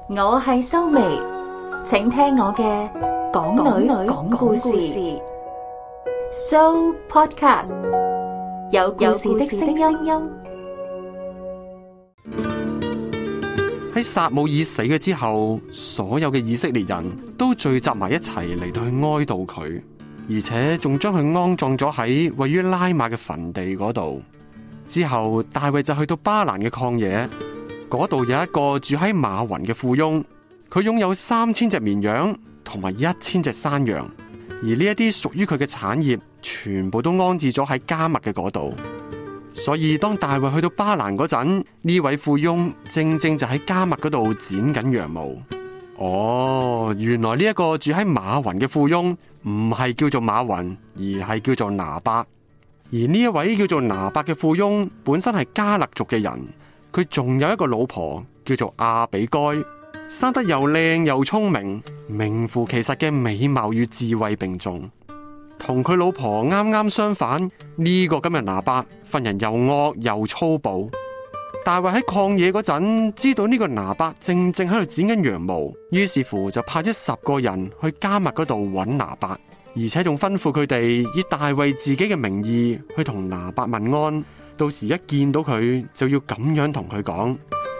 我係修眉，請聽我嘅港女講故事So Podcast， 有故事的聲音。 喺撒母耳死咗之後，所有嘅以色列人都聚集埋一齊嚟到去哀悼佢，而且仲將佢安葬咗喺位於拉瑪嘅墳地嗰度。之後大衛就去到巴蘭嘅曠野，嗰度有一個住喺馬雲嘅富翁，佢擁有3000隻綿羊同埋1000隻山羊，而呢一啲屬於佢嘅產業全部都安置咗喺迦密嘅嗰度。所以當大衛去到巴蘭嗰陣，呢位富翁正就喺迦密嗰度剪緊羊毛。哦，原來呢一個住喺馬雲嘅富翁唔係叫做馬雲，而係叫做拿伯。而呢一位叫做拿伯嘅富翁本身係迦勒族嘅人，佢仲有一個老婆叫做亞比該，生得又靚又聰明，名副其實嘅美貌與智慧並重。同佢老婆啱啱相反，呢個今日拿伯份人又惡又粗暴。大衛喺曠野嗰陣，知道呢個拿伯正喺度剪緊羊毛，於是乎就派咗10個人去迦密嗰度揾拿伯，而且仲吩咐佢哋以大衛自己嘅名義去同拿伯問安，到時一見到佢就要咁樣同佢講：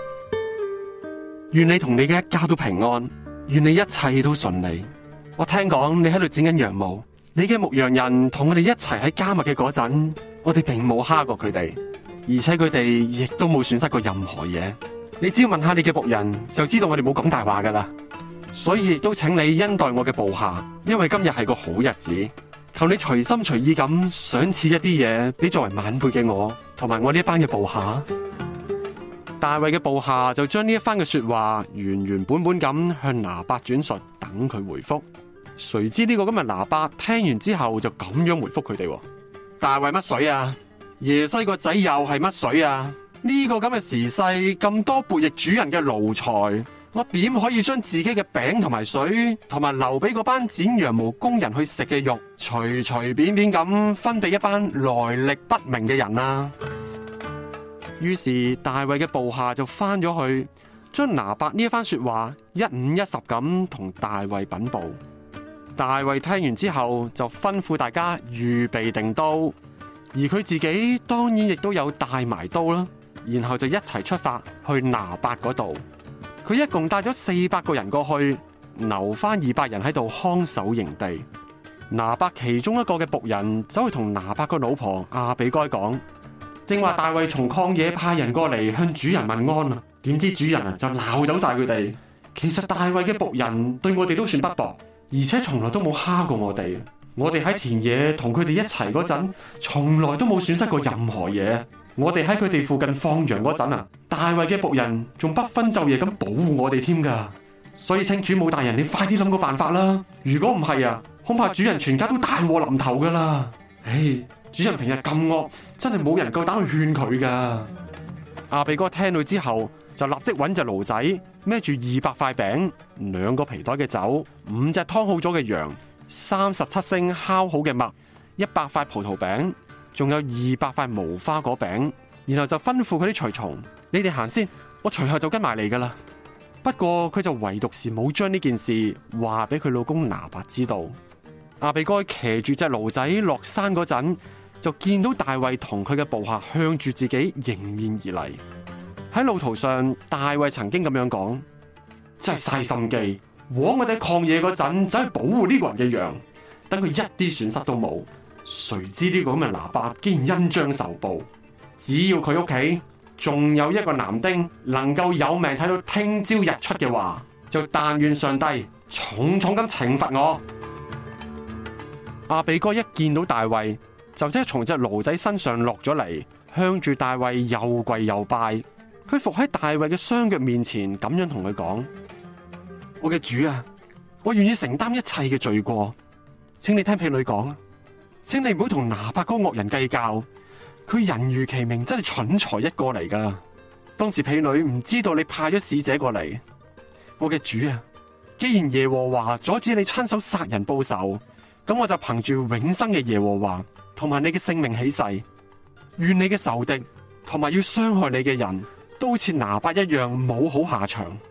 願你同你嘅一家都平安，願你一切都順利。我聽講你喺度剪緊羊毛，你嘅牧羊人同我哋一齊喺迦密嘅嗰陣，我哋並冇蝦過佢哋，而且佢哋亦都冇損失過任何嘢。你只要問下你嘅僕人，就知道我哋冇講大話噶啦。所以亦都請你恩待我嘅部下，因為今日係個好日子，求你隨心隨意咁賞賜一啲嘢俾作為晚輩嘅我，同埋我呢一班嘅部下。大衛嘅部下就將呢一番嘅說話原本咁向拿伯轉述，等佢回覆。誰知呢個今日拿伯聽完之後就咁樣回覆佢哋：大衛乜水啊？耶西個仔又係乜水啊？呢個咁嘅時勢，咁多悖逆主人嘅奴才，我點可以將自己嘅餅同埋水，同埋留俾嗰班剪羊毛工人去食嘅肉，隨便咁分俾一班來歷不明嘅人啊？於是大衛嘅部下就翻咗去，將拿伯呢一番說話一五一十咁同大衛稟報。大衛聽完之後就吩咐大家預備定刀，而佢自己當然亦都有帶埋刀啦，然後就一齊出發去拿伯嗰度。佢一共帶咗400個人過去，留翻200人喺度看守營地。拿伯其中一個嘅僕人走去同拿伯個老婆亞比該講：正話大衛從曠野派人過嚟向主人問安啊，點知主人就鬧走晒佢哋。其實大衛嘅僕人對我哋都算不薄，而且從來都冇蝦過我哋。我哋喺田野同佢哋一齊嗰陣，從來都冇損失過任何嘢。我哋喺佢哋附近放羊嗰陣啊，大衛嘅僕人仲不分晝夜咁保護我哋添噶。所以請主母大人，你快啲諗個辦法啦！如果唔係啊，恐怕主人全家都大禍臨頭噶啦。唉，主人平日咁惡，真係冇人夠膽去勸佢噶。亞比該聽到之後，就立即揾隻驢仔，孭住200塊餅、2個皮袋嘅酒、5隻湯好咗嘅羊、37升烤好嘅麥、100塊葡萄餅，仲有200塊無花果餅，然後就吩咐佢啲隨從：你哋行先，我隨後就跟埋嚟噶啦。不過佢就唯獨是冇將呢件事話俾佢老公拿伯知道。亞比該騎住隻驢仔落山嗰陣，就見到大衛同佢嘅部下向住自己迎面而嚟。喺路途上，大衛曾經咁樣講：真係嘥心機，枉我哋喺曠野嗰陣走去保護呢個人嘅羊，等佢一啲損失都冇。誰知呢個咁嘅拿伯竟然恩將仇報，只要佢屋企仲有一個男丁能夠有命睇到聽朝日出嘅話，就但願上帝重重咁懲罰我。亞比該一見到大衛，就即係從隻驢仔身上落咗嚟，向住大衛又跪又拜。佢伏喺大衛嘅雙腳面前，咁樣同佢講：我嘅主啊，我願意承擔一切嘅罪過，請你聽婢女講，請你唔好同拿伯嗰個惡人計較，佢人如其名，真係蠢材一個嚟噶。當時婢女唔知道你派咗使者過嚟。我嘅主啊，既然耶和華阻止你親手殺人報仇，咁我就憑住永生嘅耶和華同埋你嘅性命起誓，願你嘅仇敵同埋要傷害你嘅人都好似拿伯一樣冇好下場。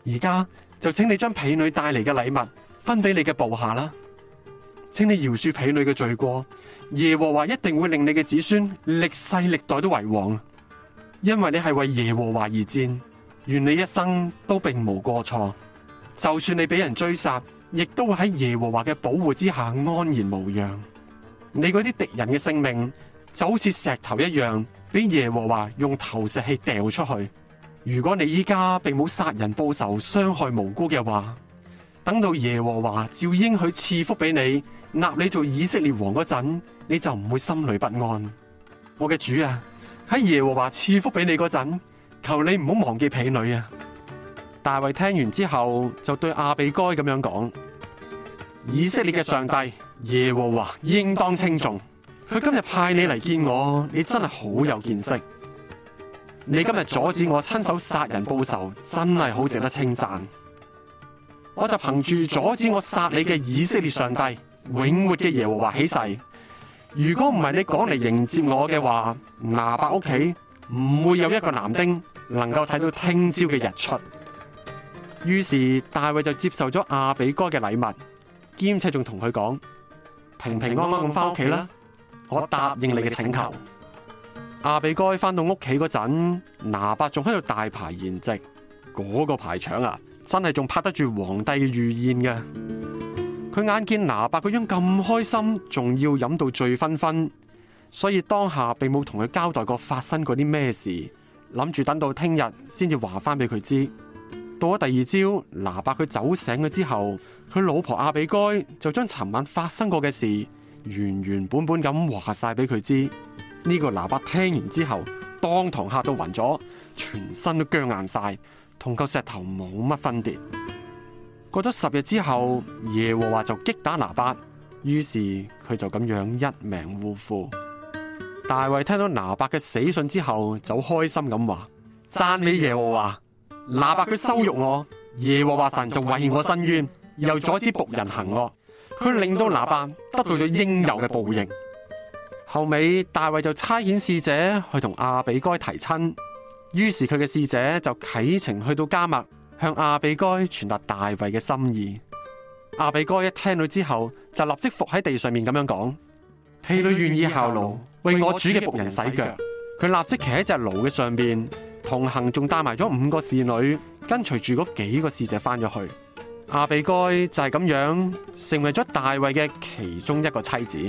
而家就請你將婢女帶嚟嘅禮物分俾你嘅部下啦。請你饒恕婢女嘅罪過，耶和華一定會令你嘅子孫歷世歷代都為王，因為你係為耶和華而戰，願你一生都並無過錯。就算你俾人追殺，亦都會喺耶和華嘅保護之下安然無恙。你嗰啲敵人嘅性命就好似石頭一樣，俾耶和華用投石器掉出去。如果你依家並冇殺人報仇、傷害無辜嘅話，等到耶和華照應許賜福俾你，立你做以色列王嗰陣，你就唔會心裏不安。我嘅主啊，喺耶和華賜福俾你嗰陣，求你唔好忘記婢女啊！大衛聽完之後就對亞比該咁樣講：以色列嘅上帝耶和華應當稱頌，佢今日派你嚟見我，你真係好有見識。你今日阻止我親手殺人報仇，真係好值得稱讚。我就憑住阻止我殺你嘅以色列上帝永活嘅耶和華起誓，如果唔係你講嚟迎接我嘅話，拿伯屋企唔會有一個男丁能夠睇到聽朝嘅日出。於是大衛就接受咗亞比該嘅禮物，兼且仲同佢講：平平安安咁翻屋企啦，我答應你嘅請求。亞比該翻到屋企嗰陣，拿伯仲喺度大排筵席，嗰個排場啊，真係仲拍得住皇帝嘅御宴嘅。佢眼見拿伯個樣咁開心，仲要飲到醉醺醺，所以當下並冇同佢交代過發生過啲咩事，諗住等到聽日先至話翻俾佢知。到咗第二朝，拿伯佢酒醒咗之後，佢老婆亞比該就將尋晚發生過嘅事原原本本咁話晒俾佢知。呢個拿伯聽完之後，當堂嚇到暈咗，全身都僵硬晒，同嚿石頭冇乜分別。過咗10日之後，耶和華就擊打拿伯，於是佢就咁樣一命嗚呼。大衛聽到拿伯嘅死訊之後，就開心咁話：讚美耶和華！拿伯佢羞辱我，耶和華神就為我伸冤，又阻止僕人行惡，佢令到拿伯得到咗應有嘅報應。後尾大衛就差遣使者去同亞比該提親，於是佢嘅使者就啟程去到迦密，向亞比該傳達大衛嘅心意。亞比該一聽到之後，就立即伏喺地上面咁樣講：婢女願意效勞，為我主嘅僕人洗腳。佢立即騎喺隻驢嘅上邊，同行仲帶埋咗5個侍女，跟隨住嗰幾個使者翻咗去。亞比該就係咁樣成為咗大衛嘅其中一個妻子。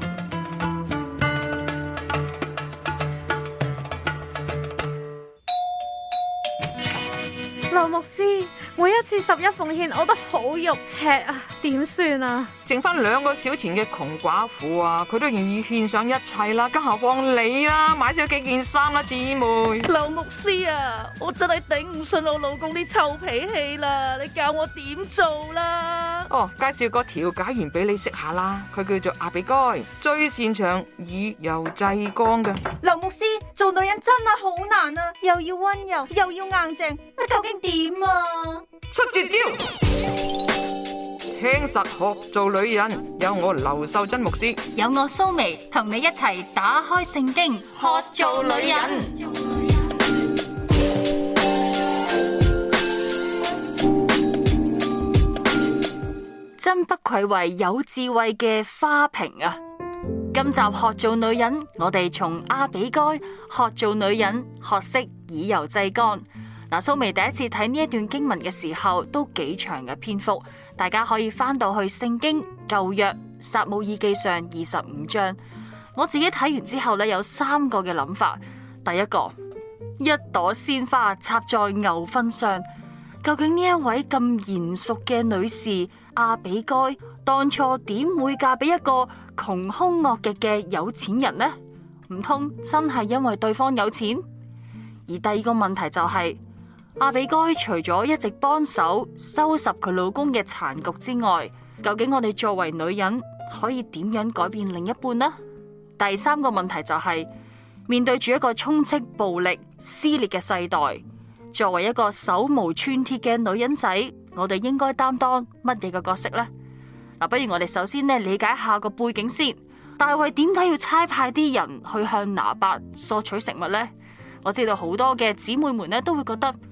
劉牧師，每一次11奉獻我都好肉赤啊，點算啊？ 剩翻2個小錢嘅窮寡婦啊，佢都願意獻上一切啦，更何況你啦，買少幾件衫啦，姊妹。 劉牧師啊，我真係頂唔順我老公啲臭脾氣啦，你教我點做啦？ 哦，介紹個調解員俾你識下啦，佢叫做亞比該，最擅長以柔制剛嘅。 劉牧師，做女人真係好難啊，又要溫柔又要硬淨，究竟點啊？ 出絕招，聽實學做女人，有我劉秀珍牧師， 有我蘇眉同你一齊打開聖經學做女人。真不愧為有智慧嘅花瓶啊！今集學做女人，我哋從亞比該學做女人，學識以柔制剛。嗱，蘇眉第一次睇呢一段經文嘅時候，都幾長嘅篇幅，大家可以翻到去聖經舊約撒母耳記上25章。我自己睇完之後呢，有3個嘅諗法。第一個，一朵鮮花插在牛糞上，究竟呢一位咁賢淑嘅女士亞比該，當初點會嫁俾一個窮兇惡極嘅有錢人呢？唔通真係因為對方有錢？而第二個問題就係，亞比該除咗一直幫手收拾佢老公嘅殘局之外，究竟我哋作為女人可以點樣改變另一半呢？第3個問題就係，面對住一個充斥暴力撕裂嘅世代，作為一個手無寸鐵嘅女人仔，我哋應該擔當乜嘢嘅角色呢？嗱，不如我哋首先理解下個背景先。大衛點解要差派啲人去向拿伯索取食物呢？我知道好多嘅姊妹們都會覺得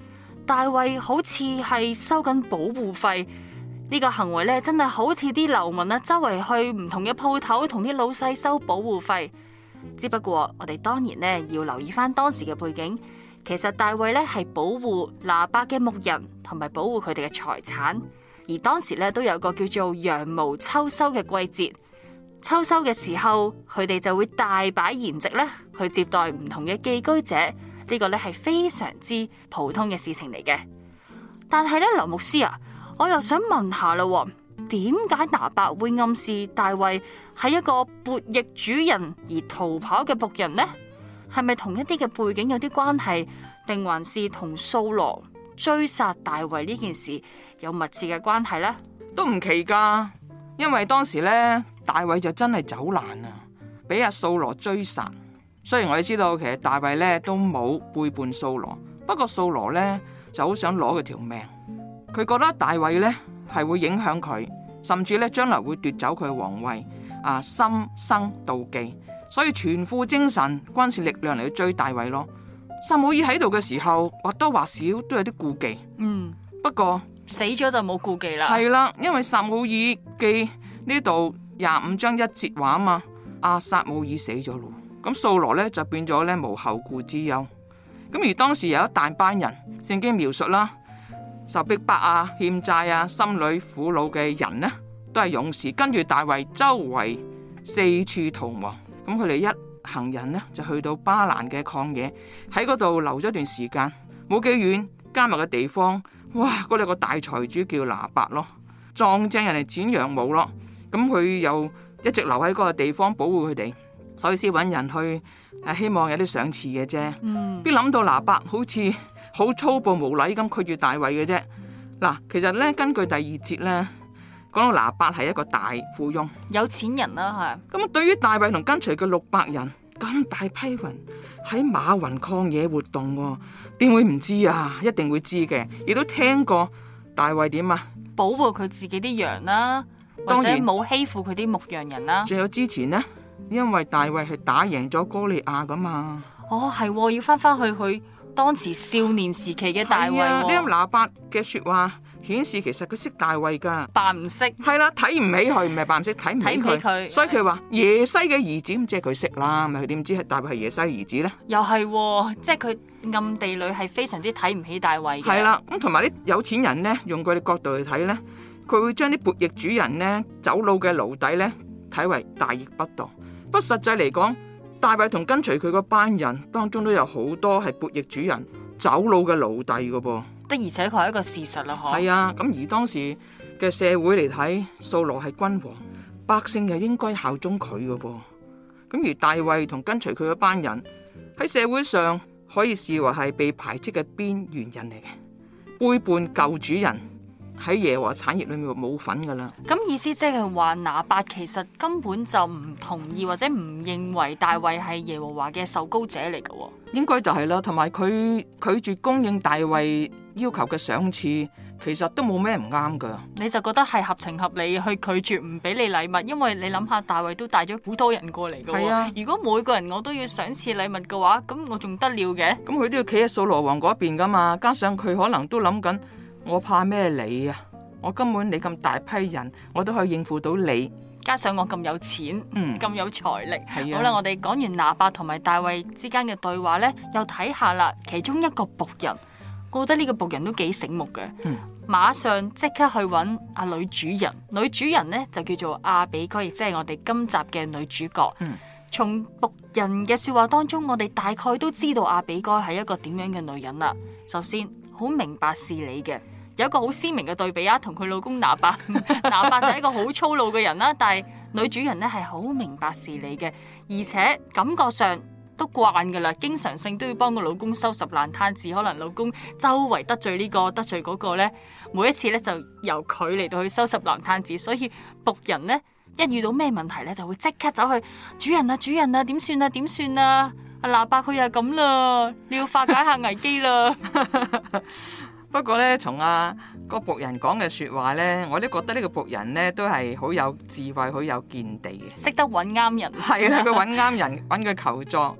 大衛好似係收緊保護費，呢個行為咧真係好似啲流民啊，周圍去唔同嘅鋪頭同啲老細收保護費。只不過我哋當然咧要留意翻當時嘅背景，其實大衛咧係保護拿伯嘅牧人同埋保護佢哋嘅財產，而當時咧都有個叫做羊毛秋收嘅季節。秋收嘅時候，佢哋就會大擺筵席咧，去接待唔同嘅寄居者。呢個咧係非常之普通嘅事情嚟嘅。但係咧，劉牧師啊，我又想問下啦，點解拿伯會暗示大衛係一個悖逆主人而逃跑嘅僕人呢？係咪同一啲嘅背景有啲關係，定還是同掃羅追殺大衛呢件事有密切嘅關係呢？ 都唔奇噶，因為當時咧大衛就真係走難啊，俾阿掃羅追殺。雖然我哋知道其實大衛咧都冇背叛掃羅，不過掃羅咧就好想攞佢條命，佢覺得大衛咧係會影響佢，甚至咧將來會奪走佢嘅皇位，心生妒忌，所以全副精神軍事力量嚟去追大衛咯。撒母耳喺度嘅時候，或多或少都有啲顧忌，不過死咗就冇顧忌啦。 係啦，因為撒母耳記呢度25章1節話啊嘛，撒母耳死咗咯。咁掃羅咧就變咗咧無後顧之憂。咁而當時有一大班人，聖經描述啦，受逼迫欠債心裏苦惱嘅人呢，都係勇士，跟住大衛周圍四處逃亡。咁佢哋一行人呢，就去到巴蘭嘅曠野，喺嗰度留咗一段時間。冇幾遠加密嘅地方，哇！嗰度個大財主叫拿伯咯，撞正人哋剪羊毛咯。咁佢又一直留喺嗰個地方保護佢哋。所以先揾人去希望有啲賞賜嘅啫。邊諗到拿伯好似好粗暴無禮咁拒絕大衛嘅啫。嗱，其實咧根據第2節咧，講到拿伯係一個大富翁， 有錢人啦，係。 咁對於大衛同跟隨嘅600人，咁大批人喺馬雲曠野活動，點會唔知啊？一定會知嘅，亦都聽過大衛點啊？ 保護佢自己啲羊啦，或者冇欺負佢啲牧羊人啦。 仲有之前呢，因為大衛係打贏咗哥利亞噶嘛。 哦，係，要翻去佢當時少年時期嘅大衛。 呢個拿伯嘅說話顯示其實佢識大衛噶， 扮唔識。 係啦，睇唔起佢，唔係扮唔識，睇唔起佢。所以佢話耶西嘅兒子，咁即係佢識啦，咪佢點知係大衛係耶西嘅兒子咧？ 又係，即係佢暗地裏係非常之睇唔起大衛嘅。 係啦，咁同埋啲有錢人咧，用佢哋角度去睇咧，佢會將啲悖逆主人咧、走佬嘅奴隸咧睇為大逆不道。不過實際嚟講，大衛同跟隨佢嗰班人當中都有好多係悖逆主人、走佬嘅奴隸噶噃。 的而且確係一個事實啦，嗬。 係啊，咁而當時嘅社會嚟睇，掃羅係君王，百姓又應該效忠佢噶噃。咁而大衛同跟隨佢嗰班人喺社會上可以視為係被排斥嘅邊緣人嚟嘅，背叛舊主人，喺耶和華產業裏面冇份噶啦。 咁意思即係話拿伯其實根本就唔同意或者唔認為大衛係耶和華嘅受膏者嚟噶。 應該就係啦，同埋佢拒絕供應大衛要求嘅賞賜，其實都冇咩唔啱噶。 你就覺得係合情合理去拒絕唔俾你禮物，因為你諗下大衛都帶咗好多人過嚟噶。係啊，如果每個人我都要賞賜禮物嘅話，咁我仲得了嘅？咁佢都要企喺掃羅王嗰邊噶嘛，加上佢可能都諗緊，我怕咩你啊？我根本你咁大批人，我都可以應付到你。 加上我咁有錢，咁有財力。 係啊。 好啦，我哋講完拿伯同埋大衛之間嘅對話呢，又睇下啦。其中一個僕人，我覺得呢個僕人都幾醒目嘅。馬上即刻去揾女主人。女主人呢就叫做亞比該，亦即係我哋今集嘅女主角。從僕人嘅說話當中，我哋大概都知道亞比該係一個點樣嘅女人啦。首先，好明白事理嘅。有一個好鮮明嘅對比啊，同佢老公拿伯，拿伯就係一個好粗魯嘅人啦，但係女主人咧係好明白事理嘅，而且感覺上都慣噶啦，經常性都要幫個老公收拾爛攤子，可能老公周圍得罪呢個得罪嗰個咧，每一次咧就由佢嚟到去收拾爛攤子，所以僕人咧一遇到咩問題咧就會即刻走去主人啊，點算啊點算啊，拿伯佢又咁啦，你要化解下危機啦。 不過咧，從個僕人講嘅說話咧，我都覺得呢個僕人咧都係好有智慧、好有見地嘅， 識得揾啱人。 係啦，佢揾啱人，揾佢求助。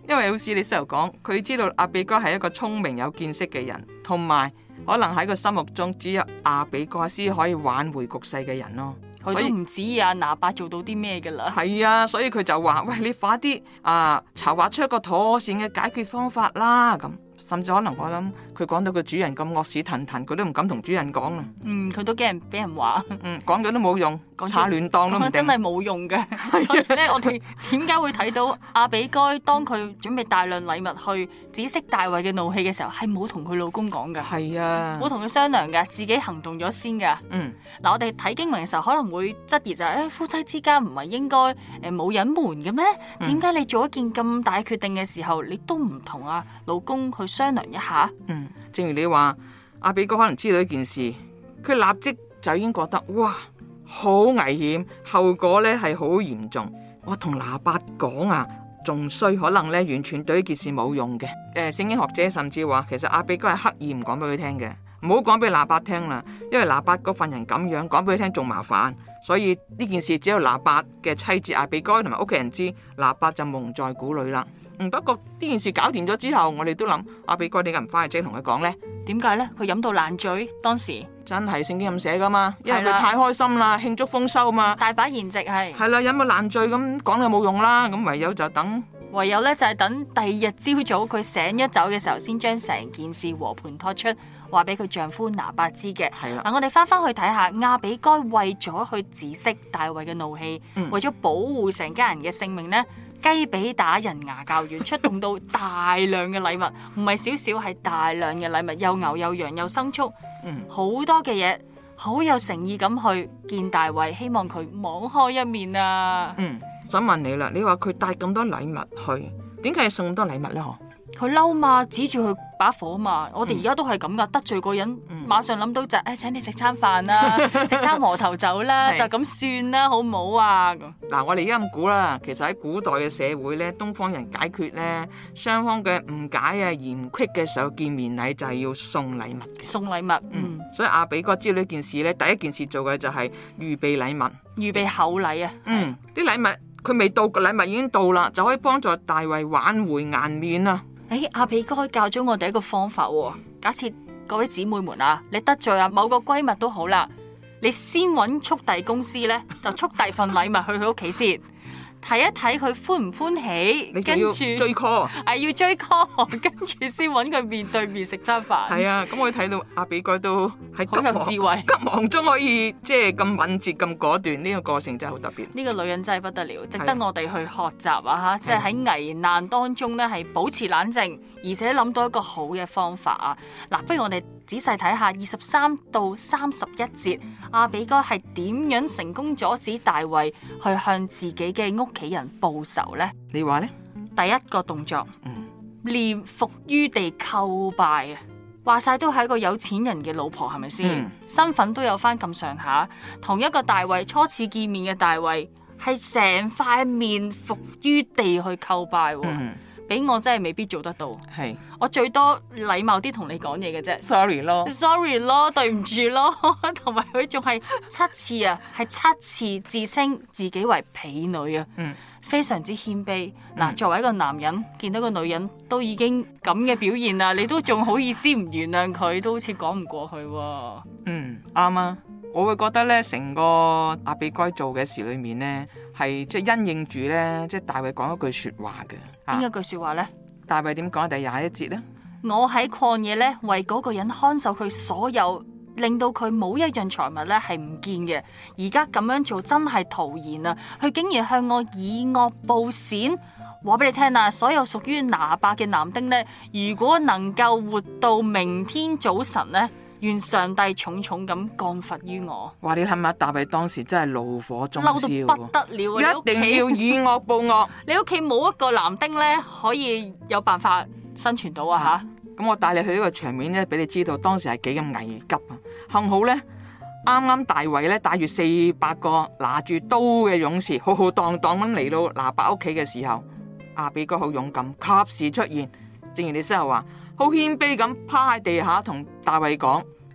因為好似你先頭講，佢知道亞比該係一個聰明有見識嘅人，同埋可能喺佢心目中只有亞比該先可以挽回局勢嘅人咯。 佢都唔指意拿八做到啲咩噶啦。 係啊，所以佢就話：喂，你快啲籌劃出一個妥善嘅解決方法啦。咁甚至可能我諗佢講到個主人咁惡屎騰騰，佢都唔敢同主人講啦。 佢都驚人俾人話。 講咗都冇用，插亂當都唔定。 真係冇用嘅。所以咧，我哋點解會睇到亞比該當佢準備大量禮物去止息大衛嘅怒氣嘅時候，係冇同佢老公講㗎。 係啊， 冇同佢商量㗎，自己行動咗先㗎。嗱，我哋睇經文嘅時候可能會質疑就係：夫妻之間唔係應該冇隱瞞嘅咩？點解你做一件咁大決定嘅時候，你都唔同老公去商量一下？ 正如你話，亞比該可能知道一件事，佢立即就已經覺得哇，好危險，後果咧係好嚴重。我同拿八講仲衰，可能咧完全對呢件事冇用嘅。聖經學者甚至話，其實亞比該係刻意唔講俾佢聽嘅，唔好講俾拿八聽啦，因為拿八嗰份人咁樣講俾佢聽仲麻煩。所以呢件事只有拿八嘅妻子亞比該同埋屋企人知，拿八就蒙在鼓裏啦。不過呢件事搞掂咗之後，我哋都諗亞比該點解唔翻去即係同佢講呢？ 點解呢？佢飲到爛醉，當時真係聖經咁寫噶嘛？因為佢太開心啦，慶祝豐收嘛， 大把筵席係啦，飲到爛醉咁講就冇用啦，咁唯有就等， 唯有咧就係等第二日朝早佢醒一走嘅時候，先將成件事和盤托出，話俾佢丈夫拿八知嘅。 係啦， 嗱，我哋翻去睇下亞比該為咗去止息大衛嘅怒氣，為咗保護成家人嘅性命呢，雞髀打人牙較軟，出動到大量嘅禮物，唔係少少，係大量嘅禮物，又牛又羊又牲畜，好多嘅嘢，好有誠意咁去見大衛，希望佢網開一面啊！ 想問你啦，你話佢帶咁多禮物去，點解要送咁多禮物呢？ 佢嬲嘛，指住佢把火嘛。我哋而家都係咁噶，得罪個人，馬上諗到就請你食餐飯啦，食餐和頭酒啦，就咁算啦，好唔好啊？ 嗱，我哋而家咁估啦，其實喺古代嘅社會咧，東方人解決咧雙方嘅誤解嫌隙嘅時候，見面禮就係要送禮物。 送禮物， 所以亞比該知道呢件事咧，第一件事做嘅就係預備禮物， 預備厚禮啊。 啲禮物佢未到，個禮物已經到啦，就可以幫助大衛挽回顏面啦。 亞比該教咗我哋一個方法喎。假設各位姊妹們你得罪某個閨蜜都好啦，你先揾速遞公司咧，就速遞份禮物去佢屋企先，睇一睇佢歡唔歡喜，跟住追 call， 要追 call， 跟住先揾佢面對面食餐飯。 係啊，咁我睇到亞比該都係好有智慧， 急忙中可以即係咁敏捷咁果斷，呢個過程真係好特別。呢個女人真係不得了，值得我哋去學習即係喺危難當中咧係保持冷靜，而且諗到一個好嘅方法嗱，不如我哋仔細睇下23到31節，亞比該係點樣成功阻止大衛去向自己嘅屋企人報仇呢？ 你話呢？ 第一個動作，臉伏於地叩拜話晒都係一個有錢人嘅老婆，係咪先？身份都有翻咁上下。同一個大衛初次見面嘅大衛，係成塊面伏於地去叩拜。俾我真係未必做得到，我最多禮貌啲同你講嘢嘅啫。sorry 咯，對唔住咯。同埋佢仲係7次係7次自稱自己為婢女非常之謙卑。嗱，作為一個男人，見到個女人都已經咁嘅表現啦，你都仲好意思唔原諒佢，都好似講唔過去。 啱啊。我會覺得咧，成個亞比該做嘅事裏面呢，係即係因應住咧，即係大衛講一句說話嘅。 邊一句說話呢？ 大衛點講？第21節呢？ 我喺曠野咧，為嗰個人看守佢所有，令到佢冇一樣財物咧係唔見嘅。而家咁樣做真係徒然啊！佢竟然向我以惡報善。話俾你聽啊，所有屬於拿八嘅男丁呢，如果能夠活到明天早晨呢，願上帝重重咁降罰於我。哇！ 你睇下大衛當時真係怒火中燒， 嬲到不得了啊！ 一定要以惡報惡。 你屋企冇一個男丁咧可以有辦法生存到啊！ 咁我帶你去呢個場面咧，俾你知道當時係幾咁危急啊！幸好咧，啱啱大衛咧帶住400個拿住刀嘅勇士，浩浩蕩蕩咁嚟到拿八屋企嘅時候，亞比該好勇敢，及時出現。正如你先頭話，好謙卑咁趴喺地下同大衛講：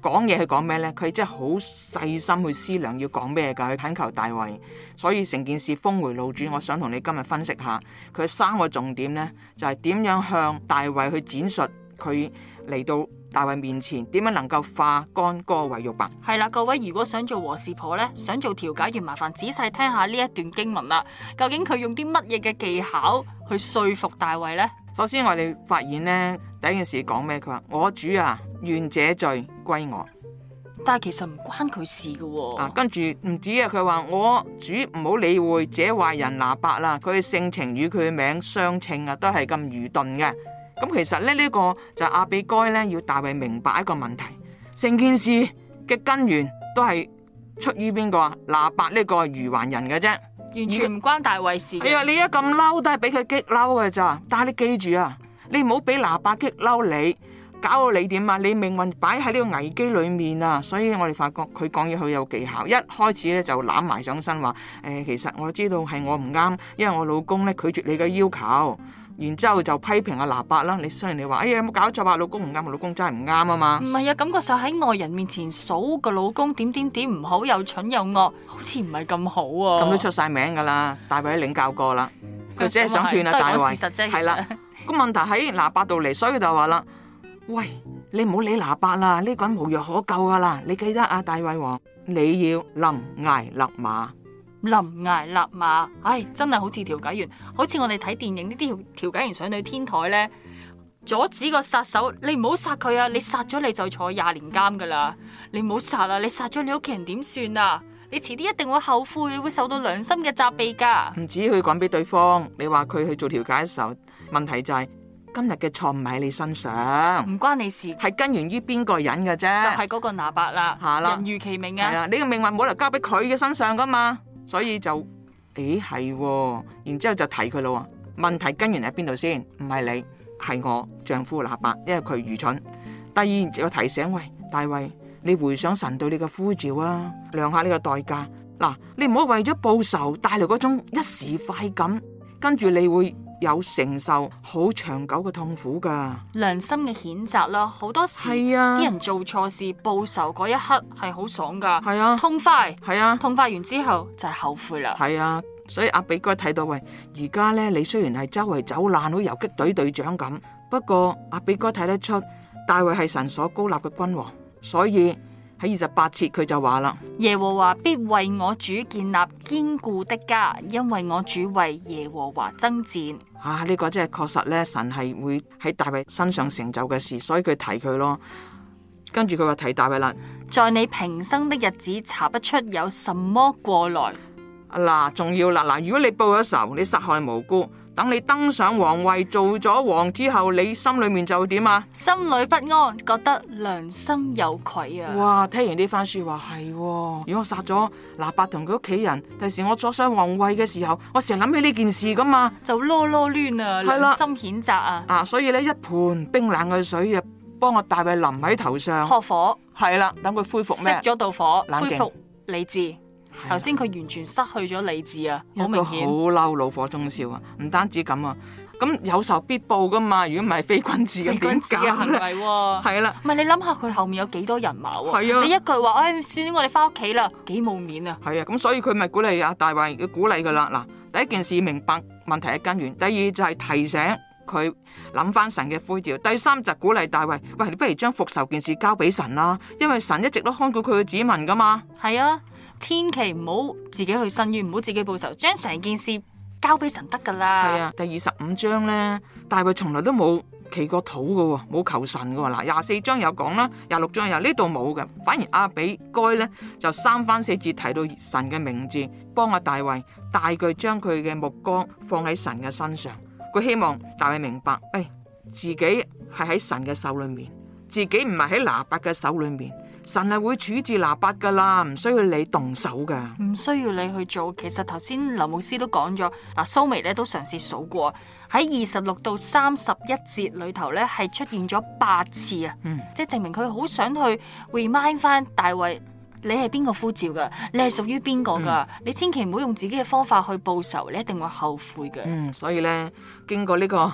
講嘢係講咩呢？佢真係好細心去思量要講咩㗎，去懇求大衛。所以成件事峰迴路轉，我想同你今日分析下佢3個重點呢，就係點樣向大衛去展述佢嚟到大衛面前，點樣能夠化干戈為玉帛。 係啦，各位如果想做和事婆呢，想做調解員，麻煩仔細聽下呢一段經文啦。究竟佢用啲乜嘢嘅技巧去說服大衛呢？ 首先我哋發現呢，第一件事講咩？佢話我主啊，願這罪歸我。 但係其實唔關佢事嘅喎。 跟住唔止啊，佢話我主唔好理會這壞人拿八啦，佢嘅性情與佢嘅名相稱啊，都係咁愚鈍嘅。咁其實呢個就係亞比該呢，要大衛明白一個問題，成件事嘅根源都係出於邊個啊？拿八呢個愚頑人嘅啫， 完全唔關大衛事嘅。 係啊，你一咁嬲都係俾佢激嬲嘅咋。但係你記住啊，你唔好俾拿八激嬲你，搞到你點啊？你命運擺喺呢個危機裏面啊！所以我哋發覺佢講嘢好有技巧，一開始咧就攬埋上身話其實我知道係我唔啱，因為我老公咧拒絕你嘅要求。然之後就批評阿拿八啦。你雖然你話有冇搞錯啊？老公唔啱，我老公真係唔啱啊嘛。 唔係啊，感覺上喺外人面前數個老公點唔好，又蠢又惡，好似唔係咁好啊。 咁都出晒名噶啦，大衛領教過啦。佢只係想勸阿大衛。係啦，個問題喺拿八度嚟，所以就話啦，喂，你唔好理拿八啦，呢個人無藥可救噶啦。你記得啊，大衛王，你要臨崖勒馬。 臨崖勒馬，唉，真係好似調解員，好似我哋睇電影呢啲調解員上到天台呢，阻止個殺手，你唔好殺佢啊！你殺咗你就坐20年監噶啦！你唔好殺啊！你殺咗你屋企人點算啊？你遲啲一定會後悔，你會受到良心嘅責備噶。 唔止去講俾對方，你話佢去做調解嘅時候，問題就係今日嘅錯唔喺你身上， 唔關你事，係根源於邊個人嘅啫， 就係嗰個拿八啦。人如其名啊， 係啊，你嘅命運冇理由交俾佢嘅身上噶嘛。所以就係，然之後就提佢咯。問題根源喺邊度先？唔係你，係我丈夫拿八，因為佢愚蠢。第二就提醒，喂，大衛，你回想神對你嘅呼召啊，量下呢個代價。嗱，你唔好為咗報仇帶來嗰種一時快感，跟住你會有承受好長久嘅痛苦噶。 良心嘅譴責啦，好多時啲人做錯事報仇嗰一刻係好爽噶，係啊，痛快，係啊，痛快完之後就係後悔啦。 係啊，所以亞比該睇到，喂，而家咧你雖然係周圍走爛好游擊隊隊長咁，不過亞比該睇得出大衛係神所高立嘅君王，所以喺28節佢就話啦， 耶和華必為我主建立堅固的家，因為我主為耶和華爭戰。 呢個真係確實咧，神係會喺大衛身上成就嘅事，所以佢提佢咯。跟住佢話提大衛啦， 在你平生的日子查不出有什麼過來。 嗱，仲要啦，如果你報咗仇，你殺害無辜，等你登上皇位做咗王之後，你心裏面就點啊？ 心裏不安，覺得良心有愧啊！ 哇，聽完呢番說話係，如果我殺咗拿八同佢屋企人，第時我坐上皇位嘅時候，我成日諗起呢件事噶嘛， 就囉囉攣啊，良心譴責啊！ 所以咧，一盆冰冷嘅水啊，幫我大衛淋喺頭上， 撲火， 係啦，等佢恢復咩？ 熄咗道火， 冷靜， 恢復理智。頭先佢完全失去咗理智啊，好明顯， 好嬲，怒火中燒啊！唔單止咁啊，咁有仇必報噶嘛，如果唔係非君子嘅點解？ 嘅行為係啦，唔係你諗下佢後面有幾多人馬喎？係啊，你一句話，算我哋翻屋企啦，幾冇面啊！ 係啊，咁所以佢咪鼓勵阿大衛，要鼓勵噶啦。嗱，第一件事明白問題嘅根源，第二就係提醒佢諗翻神嘅呼召，第三就鼓勵大衛，喂，你不如將復仇件事交俾神啦，因為神一直都看顧佢嘅子民噶嘛。 係啊。千祈唔好自己去申冤，唔好自己報仇，將成件事交俾神得噶啦。 係啊，第25章咧，大衛從來都冇祈過禱噶，冇求神噶。嗱，24章有講啦，26章有，呢度冇嘅，反而亞比該咧就3番4節提到神嘅名字，幫阿大衛大舉將佢嘅目光放喺神嘅身上。佢希望大衛明白，自己係喺神嘅手裏面，自己唔係喺拿八嘅手裏面。神係會處置拿八噶啦，唔需要你動手噶， 唔需要你去做。其實頭先劉牧師都講咗，蘇眉咧都嘗試數過喺26到31節裏頭咧係出現咗8次啊，即係證明佢好想去 remind 翻大衛，你係邊個呼召噶，你係屬於邊個噶，你千祈唔好用自己嘅方法去報仇，你一定會後悔嘅。 所以咧經過呢個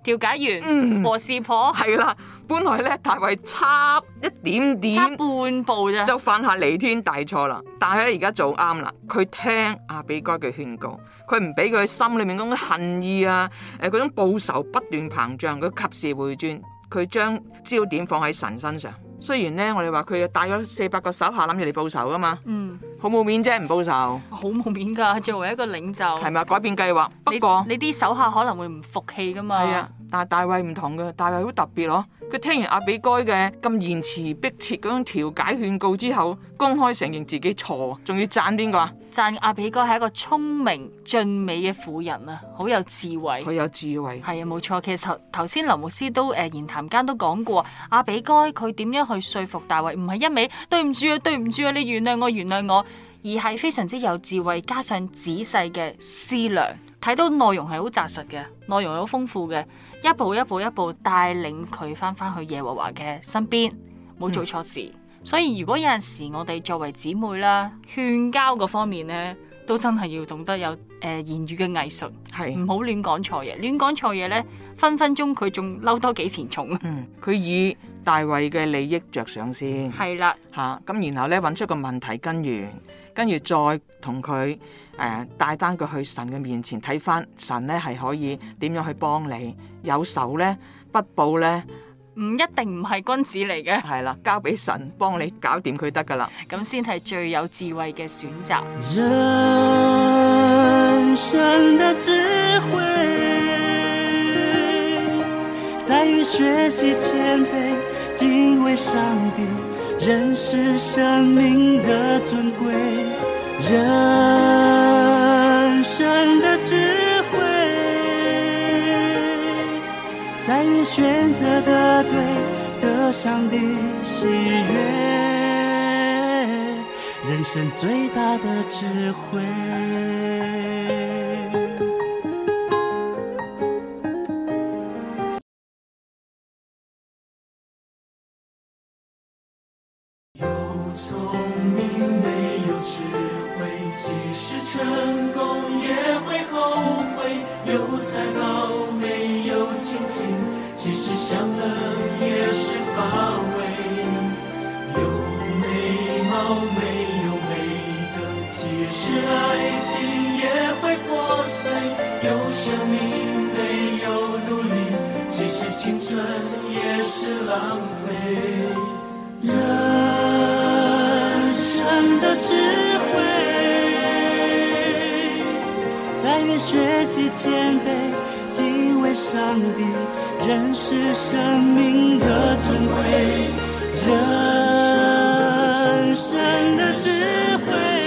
調解員、和事婆， 係啦，本來咧大衛差一點點， 差半步咋， 就犯下彌天大錯啦。但係咧而家做啱啦，佢聽亞比該嘅勸告，佢唔俾佢心裏面嗰種恨意啊，嗰種報仇不斷膨脹，佢及時回轉，佢將焦點放喺神身上。雖然咧我哋話佢帶咗400個手下諗住嚟報仇噶嘛，好冇面啫，唔報仇， 好冇面噶。作為一個領袖， 係咪改變計劃？不過你啲手下可能會唔服氣噶嘛。 係啊，但係大衛唔同嘅，大衛好特別咯。佢聽完亞比該嘅咁言辭迫切嗰種調解勸告之後，公開承認自己錯，仲要讚邊個啊？ 讚亞比該係一個聰明俊美嘅婦人啊，好有智慧。 佢有智慧， 係啊，冇錯。其實頭先林牧師都言談間都講過，亞比該佢點樣去說服大衛，唔係一味對唔住啊，對唔住啊，你原諒我，原諒我，而係非常之有智慧，加上仔細嘅思量，睇到內容係好紮實嘅，內容係好豐富嘅，一步一步一步帶領佢翻去耶和華嘅身邊，冇做錯事。所以如果有陣時我哋作為姊妹啦，勸交嗰方面呢，都真係要懂得有言語嘅藝術， 係唔好亂講錯嘢。亂講錯嘢呢，分分鐘佢仲嬲多幾錢重。 佢以大衛嘅利益着想先， 係啦， 咁然後咧揾出個問題根源，跟住再同佢帶翻佢去神嘅面前睇翻神咧係可以點樣去幫你。有仇咧不報咧， 唔一定唔係君子嚟嘅， 係啦，交俾神幫你搞掂佢得噶啦， 咁先係最有智慧嘅選擇。 人生的智慧在於學習謙卑，敬畏上帝，認識生命的尊貴。人生的智慧在於選擇的對，得上帝喜悅，人生最大的智慧。有聰明沒有智慧，即使成功也會後悔。有才華沒有親情，即使享樂也是乏味。有美貌沒有美德，即使愛情也會破碎。有生命沒有努力，即使青春也是浪費。人生的智慧在於學習謙卑，敬畏上帝，認識生命的尊貴。人生的智慧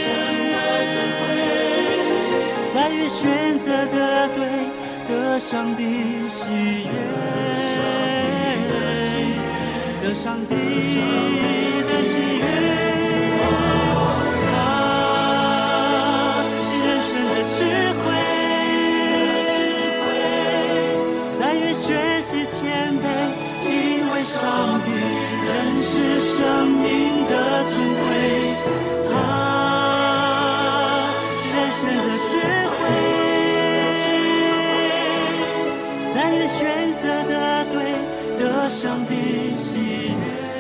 在於選擇的對，得上帝喜悅，得上帝的喜悅。人生的智慧在於學習謙卑，敬畏上帝，認識生命的尊貴。人生的智慧在於選擇的對，得上帝喜悅。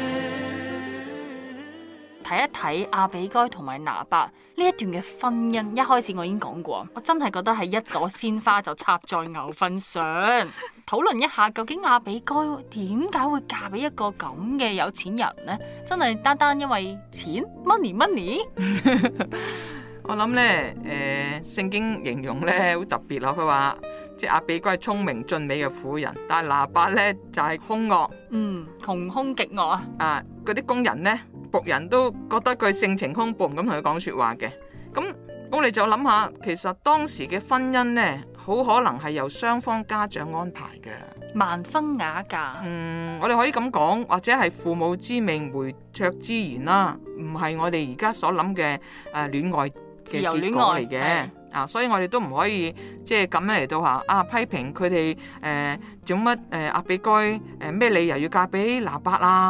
睇一睇亞比該同埋拿八呢一段嘅婚姻，一開始我已經講過，我真係覺得係一朵鮮花就插在牛糞上。討論一下究竟亞比該點解會嫁俾一個咁嘅有錢人呢？真係單單因為錢 money。 我諗咧，聖經形容咧好特別咯。佢話即係亞比該係聰明俊美嘅婦人，但係拿八咧就係兇惡， 窮兇極惡啊！ 嗰啲工人咧僕人都覺得佢性情兇暴，唔敢同佢講說話嘅。咁我哋就諗下，其實當時嘅婚姻咧，好可能係由雙方家長安排嘅， 盲婚啞嫁。 我哋可以咁講，或者係父母之命，媒妁之言啦，唔係我哋而家所諗嘅戀愛嘅結果嚟嘅。所以我哋都唔可以即係咁樣嚟到批評佢哋做乜亞比該咩理由要嫁俾拿八啊？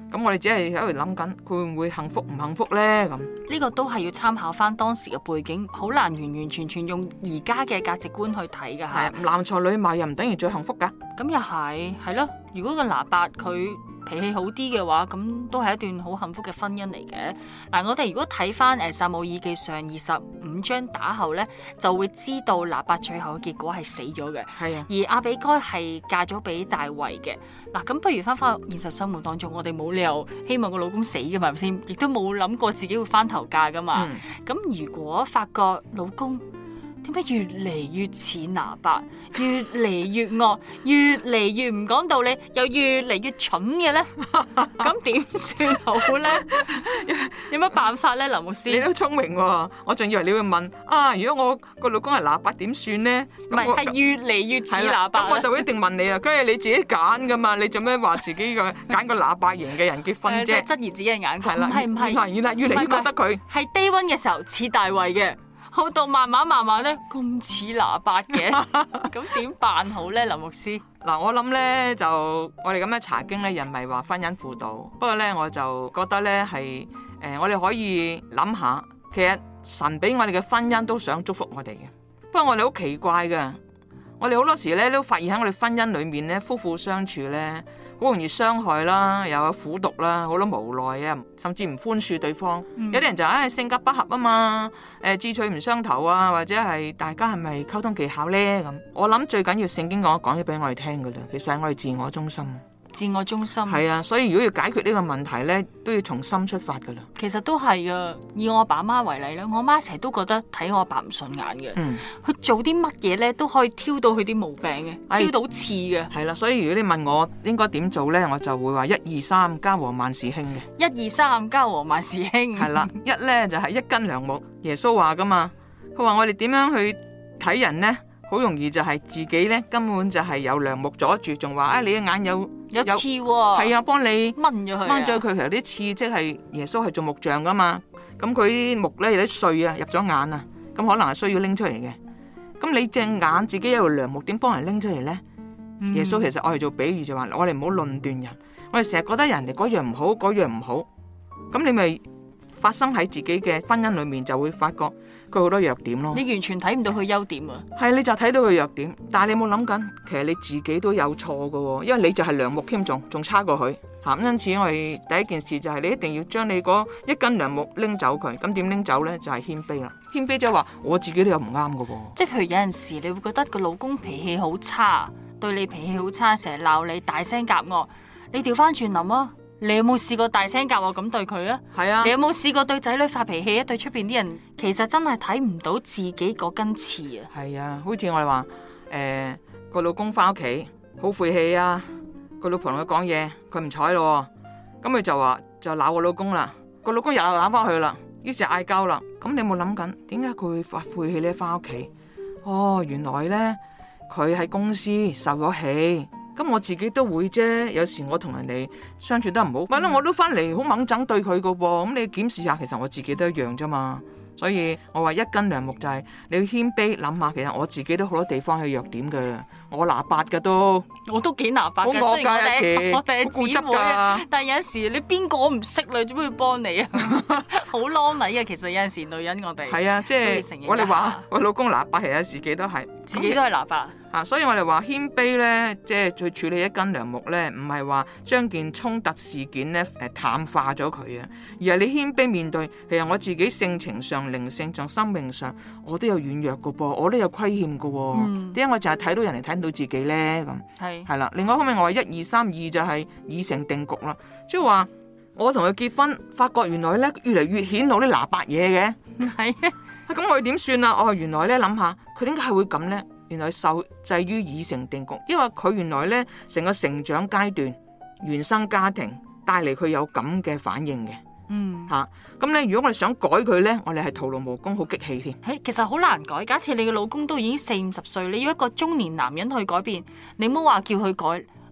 咁我哋只係喺度諗緊，佢會唔會幸福唔幸福呢？咁呢個都係要參考翻當時嘅背景，好難完完全全用而家嘅價值觀去睇㗎係嚇。 男才女貌又唔等於最幸福㗎。 咁又係咯。如果個拿八佢脾氣好啲嘅話，咁都係一段好幸福嘅婚姻嚟嘅。嗱，我哋如果睇翻《撒母耳記上》25章打後呢，就會知道拿八最後嘅結果係死咗嘅。 係啊， 而亞比該係嫁咗俾大衛嘅。嗱，咁不如翻返現實生活當中，我哋冇理由希望個老公死㗎嘛，係咪先？亦都冇諗過自己會翻頭嫁㗎嘛。咁、如果發覺老公點解越嚟越似拿八，越嚟越惡，越嚟越唔講道理，又越嚟越蠢嘅咧，咁點算好咧？有乜辦法咧，林牧師？ 你都聰明喎，我仲以為你會問啊，如果我個老公係拿八點算呢？ 唔係，係越嚟越似拿八。 咁我就一定問你啦，梗係你自己揀噶嘛，你做咩話自己揀個拿八型嘅人結婚啫？ 即係質疑自己嘅眼光。 係啦， 唔係， 原來越嚟越覺得佢係低溫嘅時候似大衛嘅。好到慢慢咧，咁似拿八嘅，咁點辦好咧，林牧師？ 嗱，我諗咧就我哋咁樣查經咧，人咪話婚姻輔導，不過咧我就覺得咧係我哋可以諗下，其實神俾我哋嘅婚姻都想祝福我哋嘅，不過我哋好奇怪嘅，我哋好多時咧都發現喺我哋婚姻裏面咧，夫婦相處咧好容易傷害啦，又有苦毒啦，好多無奈啊，甚至唔寬恕對方。有啲人就性格不合啊嘛，志趣唔相投啊，或者係大家係咪溝通技巧咧咁？我諗最緊要聖經講咗俾我哋聽噶啦，其實係我哋自我中心。 自我中心係啊，所以如果要解決呢個問題咧，都要從心出發噶啦。 其實都係噶，以我阿爸媽為例咧，我媽成日都覺得睇我阿爸唔順眼嘅。佢做啲乜嘢咧都可以挑到佢啲毛病嘅，挑到刺嘅。 係啦，所以如果你問我應該點做咧，我就會話1、2、3家和萬事興嘅。 1、2、3家和萬事興。 係啦，一咧就係一根梁木。耶穌話噶嘛，佢話我哋點樣去睇人咧？好容易就係自己咧，根本就係有梁木阻住，仲話你嘅眼有刺喎。 係啊，幫你掹咗佢。 掹咗佢，其實啲刺即係耶穌係做木匠噶嘛。咁佢啲木咧有啲碎啊，入咗眼啊，咁可能係需要拎出嚟嘅。咁你隻眼自己有條梁木，點幫人拎出嚟咧？耶穌其實我哋做比喻就話，我哋唔好論斷人。我哋成日覺得人哋嗰樣唔好，嗰樣唔好，咁你咪發生喺自己嘅婚姻裏面，就會發覺佢好多弱點咯。 你完全睇唔到佢優點啊！ 係，你就睇到佢弱點，但係你有冇諗緊，其實你自己都有錯噶，因為你就係梁木添，仲差過佢。咁因此我哋第一件事就係你一定要將你嗰一根梁木拎走佢。咁點拎走呢？就係謙卑啦。謙卑即係話我自己都有唔啱噶。 即係譬如有陣時你會覺得個老公脾氣好差，對你脾氣好差，成日鬧你，大聲夾惡。你調翻轉諗啊！你有冇試過大聲夾惡咁對佢啊？係啊！你有冇試過對仔女發脾氣啊？對出邊啲人，其實真係睇唔到自己嗰根刺啊！ 係啊，好似我哋話個老公翻屋企好晦氣啊，個老婆同佢講嘢，佢唔睬咯，咁佢就鬧個老公啦，個老公又鬧翻去啦，於是嗌交啦。咁你有冇諗緊點解佢會發晦氣呢？翻屋企哦，原來呢，佢喺公司受咗氣。咁我自己都會啫，有時我同人哋相處得唔好，咪咯我都翻嚟好猛整對佢噶噃。咁你檢視下，其實我自己都一樣啫嘛。所以我話一根梁木就係你要謙卑諗下，其實我自己都好多地方係弱點嘅，我拿八嘅都， 我都幾拿八嘅， 好惡㗎有時， 我哋係固執姊妹啊。但係有陣時你邊個唔識你，做咩要幫你啊？好啷禮嘅，其實有陣時女人我哋係啊，即係我哋話我老公拿八，其實自己都係自己都係拿八。 所以我哋話謙卑咧，即係去處理一根梁木咧，唔係話將件衝突事件咧淡化咗佢啊，而係你謙卑面對，其實我自己性情上、靈性上、生命上，我都有軟弱噶噃，我都有虧欠噶。點解我淨係睇到人哋睇唔到自己咧？咁係啦。另外一方面，我話1、2、3、2就係已成定局啦，即係話我同佢結婚，發覺原來咧越嚟越顯露啲拿八嘢嘅。係咁我哋點算啊？哦，原來咧諗下佢點解係會咁咧？原來受制於已成定局，因為佢原來咧成個成長階段、原生家庭帶嚟佢有咁嘅反應嘅。咁咧如果我哋想改佢咧，我哋係徒勞無功，好激氣添。 其實好難改。假設你嘅老公都已經40、50歲，你要一個中年男人去改變，你唔好話叫佢改，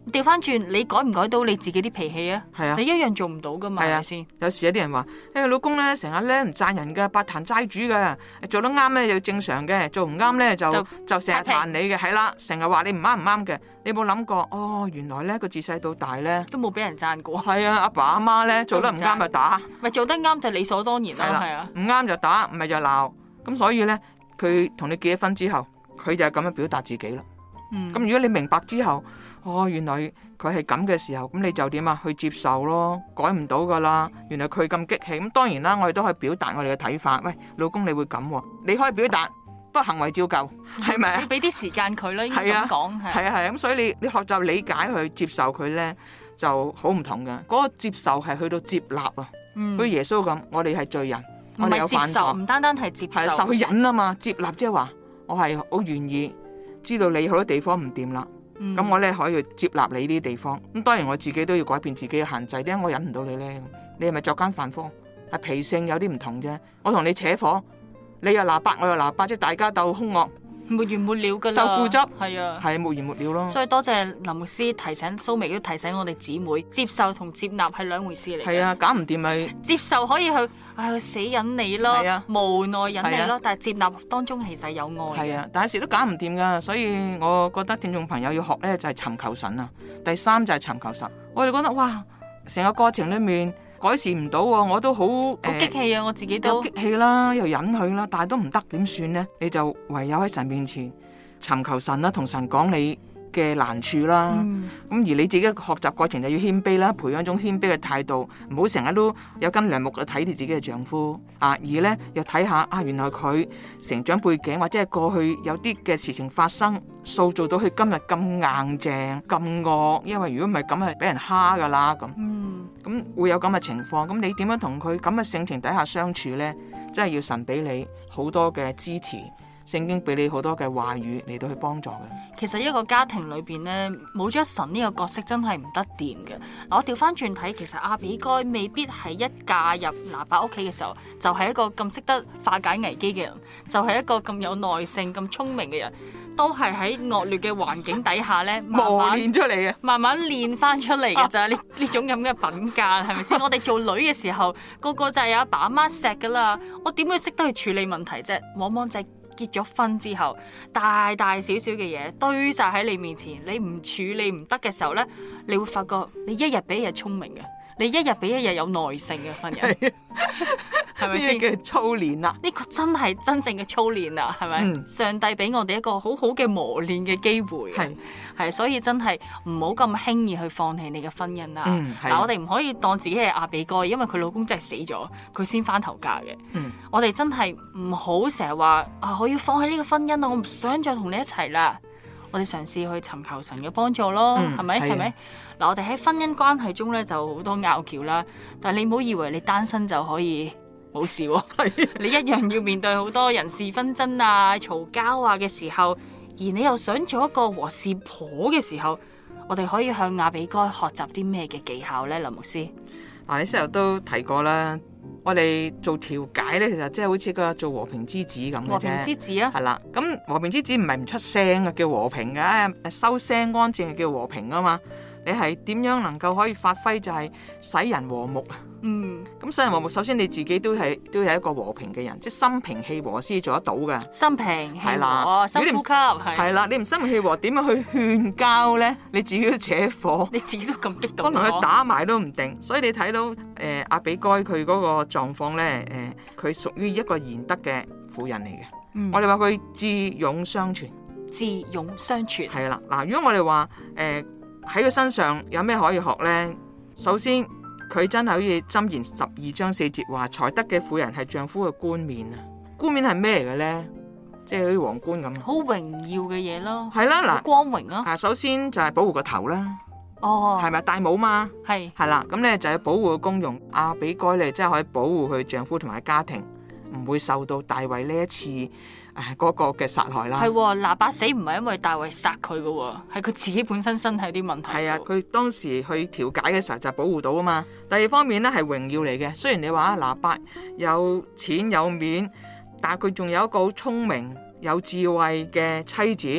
調翻轉，你改唔改到你自己啲脾氣啊？ 係啊你一樣做唔到噶嘛？係咪先？ 有時有啲人話：老公咧成日咧唔讚人噶，八壇齋主噶，做得啱咧又正常嘅，做唔啱咧就成日彈你嘅，係啦，成日話你唔啱嘅。你有冇諗過？哦，原來咧佢自細到大咧都冇俾人讚過。 係啊，阿爸阿媽咧做得唔啱就打， 咪做得啱就理所當然啦。係啊， 唔啱就打，唔係就鬧。咁所以咧，佢同你結咗婚之後，佢就係咁樣表達自己啦。咁如果你明白之後，原來佢係咁嘅時候，咁你就點啊？去接受咯，改唔到噶啦。原來佢咁激氣，咁當然啦，我哋都可以表達我哋嘅睇法。喂，老公你會咁，你可以表達，不過行為照舊，係咪啊？ 你俾啲時間佢啦，應該咁講。 係啊，咁所以你學習理解去接受佢咧，就好唔同嘅。嗰個接受係去到接納啊。好似耶穌咁，我哋係罪人，我哋有犯錯， 唔單單係接受， 係受佢忍啊嘛。接納即係話，我係好願意知道你好多地方唔掂啦。咁我咧可以接納你呢啲地方，咁當然我自己都要改變自己嘅限制。點解我忍唔到你咧？你係咪作奸犯科？係脾性有啲唔同啫。我同你扯火，你又鬧巴，我又鬧巴，即係大家鬥兇惡， 沒完沒了噶啦， 鬥固執， 係啊， 係沒完沒了咯。 所以多謝林牧師提醒蘇眉，都提醒我哋姊妹，接受同接納係兩回事嚟。 係啊，搞唔掂咪接受可以去死忍你咯，無奈忍你咯，但係接納當中其實有愛。 係啊，但係時都搞唔掂噶，所以我覺得聽眾朋友要學咧就係尋求神啊。第三就係尋求神。我哋覺得哇，成個過程裏面改善唔到，我都好激氣啊！我自己都激氣啦，又忍佢啦，但係都唔得，點算呢？你就唯有喺神面前尋求神啦，同神講你嘅難處啦。咁而你自己嘅學習過程就要謙卑啦，培養一種謙卑嘅態度，唔好成日都有根梁木去睇你自己嘅丈夫啊。而呢，又睇下原來佢成長背景或者係過去有啲嘅事情發生，塑造到佢今日咁硬淨咁惡。因為如果唔係咁係俾人蝦噶啦咁。咁會有咁嘅情況，咁你點樣同佢咁嘅性情底下相處呢？真係要神俾你好多嘅支持，聖經俾你好多嘅話語嚟到去幫助嘅。 其實一個家庭裏邊呢，冇咗神呢個角色真係唔得掂嘅。我調翻轉睇，其實亞比該未必係一嫁入拿伯屋企嘅時候，就係一個咁識得化解危機嘅人，就係一個咁有耐性、咁聰明嘅人。都係喺惡劣嘅環境底下咧， 磨練出嚟嘅， 慢慢練翻出嚟嘅咋呢種咁嘅品格，係咪先？我哋做女嘅時候，個個就係有阿爸阿媽錫噶啦，我點會識得去處理問題啫？往往就係結咗婚之後，大大小小嘅嘢堆晒喺你面前，你唔處理唔得嘅時候咧，你會發覺你一日比一日聰明嘅，你一日比一日有耐性嘅份人。係咪先？ 呢個叫操練啦， 呢個真係真正嘅操練啦，係咪？上帝俾我哋一個好好嘅磨練嘅機會，係，所以真係唔好咁輕易去放棄你嘅婚姻啦。嗱，我哋唔可以當自己係亞比該，因為佢老公真係死咗，佢先翻頭嫁嘅。我哋真係唔好成日話我要放棄呢個婚姻啊，我唔想再同你一齊啦。我哋嘗試去尋求神嘅幫助咯，係咪？係咪？嗱，我哋喺婚姻關係中咧就好多拗撬啦，但係你唔好以為你單身就可以冇事喎，你一樣要面對好多人事紛爭啊、嘈交啊嘅時候，而你又想做一個和事婆嘅時候，我哋可以向亞比該學習啲咩嘅技巧呢？林牧師， 你先頭都提過啦，我哋做調解呢，其實即係好似個做和平之子咁嘅啫。和平之子啊，係啦，咁和平之子唔係唔出聲嘅叫和平嘅，收聲安靜叫和平啊嘛。你係點樣能夠可以發揮就係使人和睦啊？咁使人和睦，首先你自己都係一個和平嘅人，即係心平氣和先做得到嘅。心平氣和，深呼吸，係啦。你唔心平氣和，點樣去勸交咧？你自己都扯火，你自己都咁激動，可能佢打埋都唔定。所以你睇到亞比該佢嗰個狀況咧，佢屬於一個賢德嘅婦人嚟嘅。我哋話佢智勇雙全，智勇雙全係啦。嗱，如果我哋話喺佢身上有咩可以學咧？首先，佢真係好似箴言12章4節話，才德嘅婦人係丈夫嘅冠冕啊！冠冕係咩嚟嘅咧？即係好似皇冠咁，好榮耀嘅嘢咯。係啦，嗱，光榮咯。首先就係保護個頭啦。係咪戴帽嘛？係啦，咁咧就係保護個公用。亞比該咧，即係可以保護佢丈夫同埋家庭，唔會受到大衛呢一次嗰個嘅殺害啦。係拿伯死唔係因為大衛殺佢噶，係佢自己本身身體有啲問題。係啊，佢當時去調解嘅時候就保護到啊嘛。第二方面咧係榮耀嚟嘅，雖然你話拿伯有錢有面，但係佢仲有一個好聰明有智慧嘅妻子，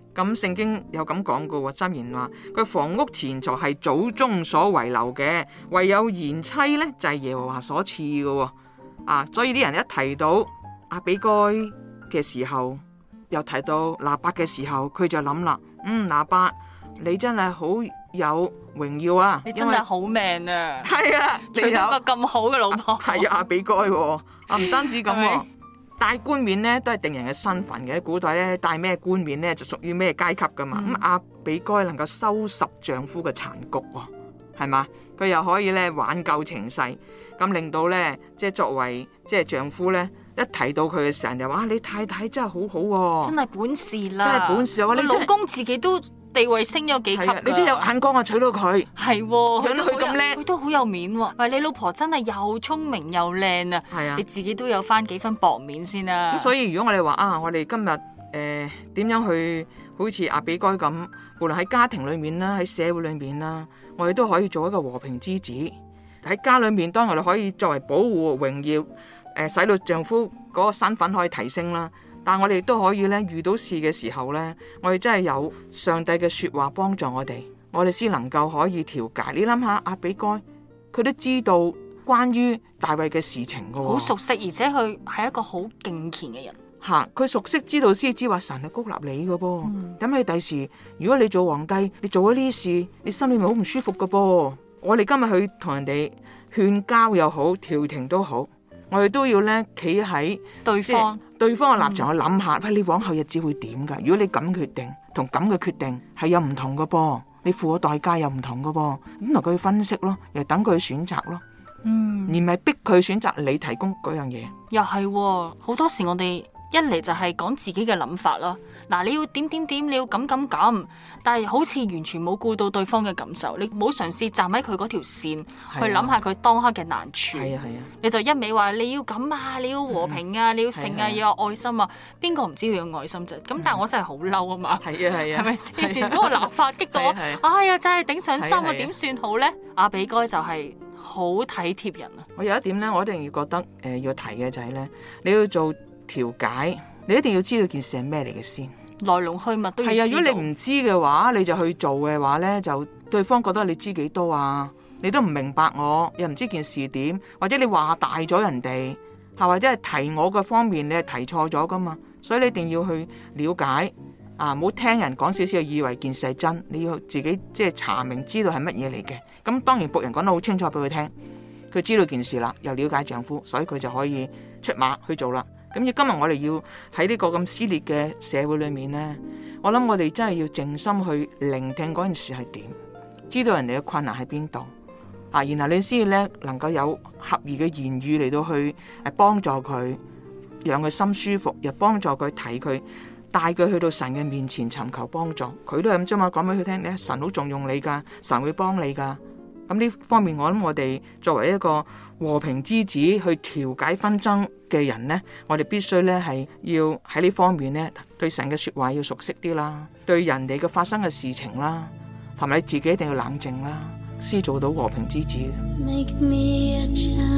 咁聖經有咁講過喎，箴言話佢房屋錢財係祖宗所遺留嘅，唯有賢妻呢就係耶和華所賜嘅喎。所以啲人一提到亞比該嘅時候，又提到拿八嘅時候，佢就諗啦，拿八你真係好有榮耀啊！ 你真係好命啊！ 係啊，你有個咁好嘅老婆， 係亞比該喎。唔單止咁喎，戴冠冕咧都係定人嘅身份嘅。古代咧戴咩冠冕咧就屬於咩階級噶嘛。咁亞比該能夠收拾丈夫嘅殘局喎，係嘛？佢又可以咧挽救情勢，咁令到咧即係作為即係丈夫咧，一提到佢嘅時候就話：你太太真係好好喎， 真係本事啦， 真係本事啊！你老公自己都地位升咗幾級㗎， 你真係有眼光啊！娶到佢係， 養到佢咁叻， 佢都好有面喎。喂，你老婆真係又聰明又靚啊！ 係啊， 你自己都有翻幾分薄面先啊！ 咁所以如果我哋話我哋今日點樣去好似亞比該咁，無論喺家庭裏面啦，喺社會裏面啦，我哋都可以做一個和平之子。喺家裏面，當我哋可以作為保護榮耀，使到丈夫嗰個身份可以提升啦。但係我哋都可以咧，遇到事嘅時候咧，我哋真係有上帝嘅說話幫助我哋，我哋先能夠可以調解。你諗下亞比該，佢都知道關於大衛嘅事情噶， 好熟悉，而且佢係一個好敬虔嘅人。 佢熟悉知道先知話神係高立你噶噃。咁你第時如果你做皇帝，你做咗呢啲事，你心裏面好唔舒服噶噃。我哋今日去同人哋勸交又好，調停都好，我哋都要咧企喺對方嘅立場去諗下，喂，你往後日子會點噶？如果你咁決定同咁嘅決定係有唔同噶噃，你付嘅代價又唔同噶噃，咁同佢分析咯，又等佢選擇咯，而唔係逼佢選擇你提供嗰樣嘢。 又係好多時我哋一嚟就係講自己嘅諗法啦。嗱，你要點，你要咁，但係好似完全冇顧到對方嘅感受，你冇嘗試站喺佢嗰條線去諗下佢當刻嘅難處。你就一味話你要咁啊，你要和平啊，你要誠啊，要有愛心啊，邊個唔知要有愛心啫？咁但係我真係好嬲啊嘛，係咪先？嗰個立法激到我，哎呀，真係頂上心啊，點算好呢？亞比該就係好體貼人啊！ 我有一點呢，我一定要覺得要提嘅就係呢：你要做調解，你一定要知道件事係咩嚟嘅先。 來龍去脈都要知道。 如果你唔知嘅話，你就去做嘅話呢，就對方覺得你知幾多啊？你都唔明白我，又唔知件事點，或者你話大咗人哋，或者係提我嘅方面，你係提錯咗噶嘛？所以你一定要去了解唔好聽人講少少，以為件事係真，你要自己即係查明知道係乜嘢嚟嘅。咁當然僕人講得好清楚俾佢聽，佢知道件事啦，又了解丈夫，所以佢就可以出馬去做啦。咁今日我哋要喺呢個咁撕裂嘅社會裏面呢，我諗我哋真係要靜心去聆聽嗰件事係點，知道人哋嘅困難喺邊度，然後你先咧能夠有合宜嘅言語嚟到去幫助佢，讓佢心舒服，又幫助佢提佢，帶佢去到神嘅面前尋求幫助。佢都係咁啫嘛，講俾佢聽，你神好重用你噶，神會幫你噶。咁呢方面，我諗我哋作為一個和平之子去調解紛爭嘅人呢，我哋必須呢係要喺呢方面呢對神嘅說話要熟悉啲啦，對人哋嘅發生嘅事情啦，同埋你自己一定要冷靜啦，先做到和平之子。Make me a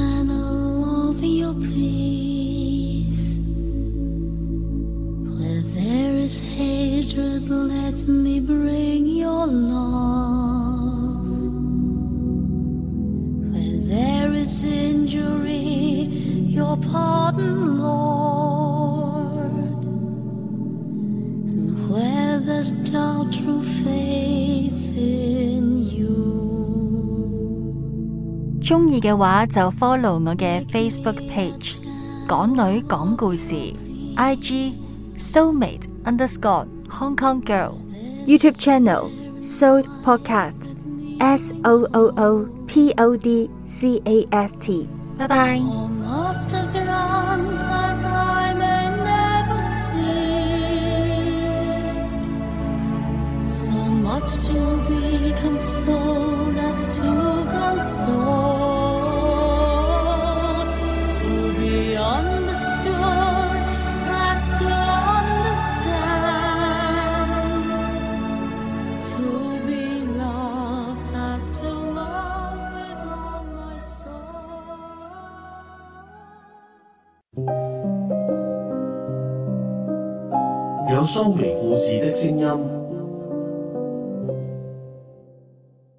channel of your peace. Where there is hatred, let me bring your love.There is injury, your pardon, Lord. And where there's doubt, true faith in you. 鍾意嘅話就 follow 我嘅 Facebook page 港女講故事 IG Soulmate _ Hong Kong Girl YouTube channel Soul Podcast SOOOPODCAST 拜拜。 有蘇眉故事的聲音。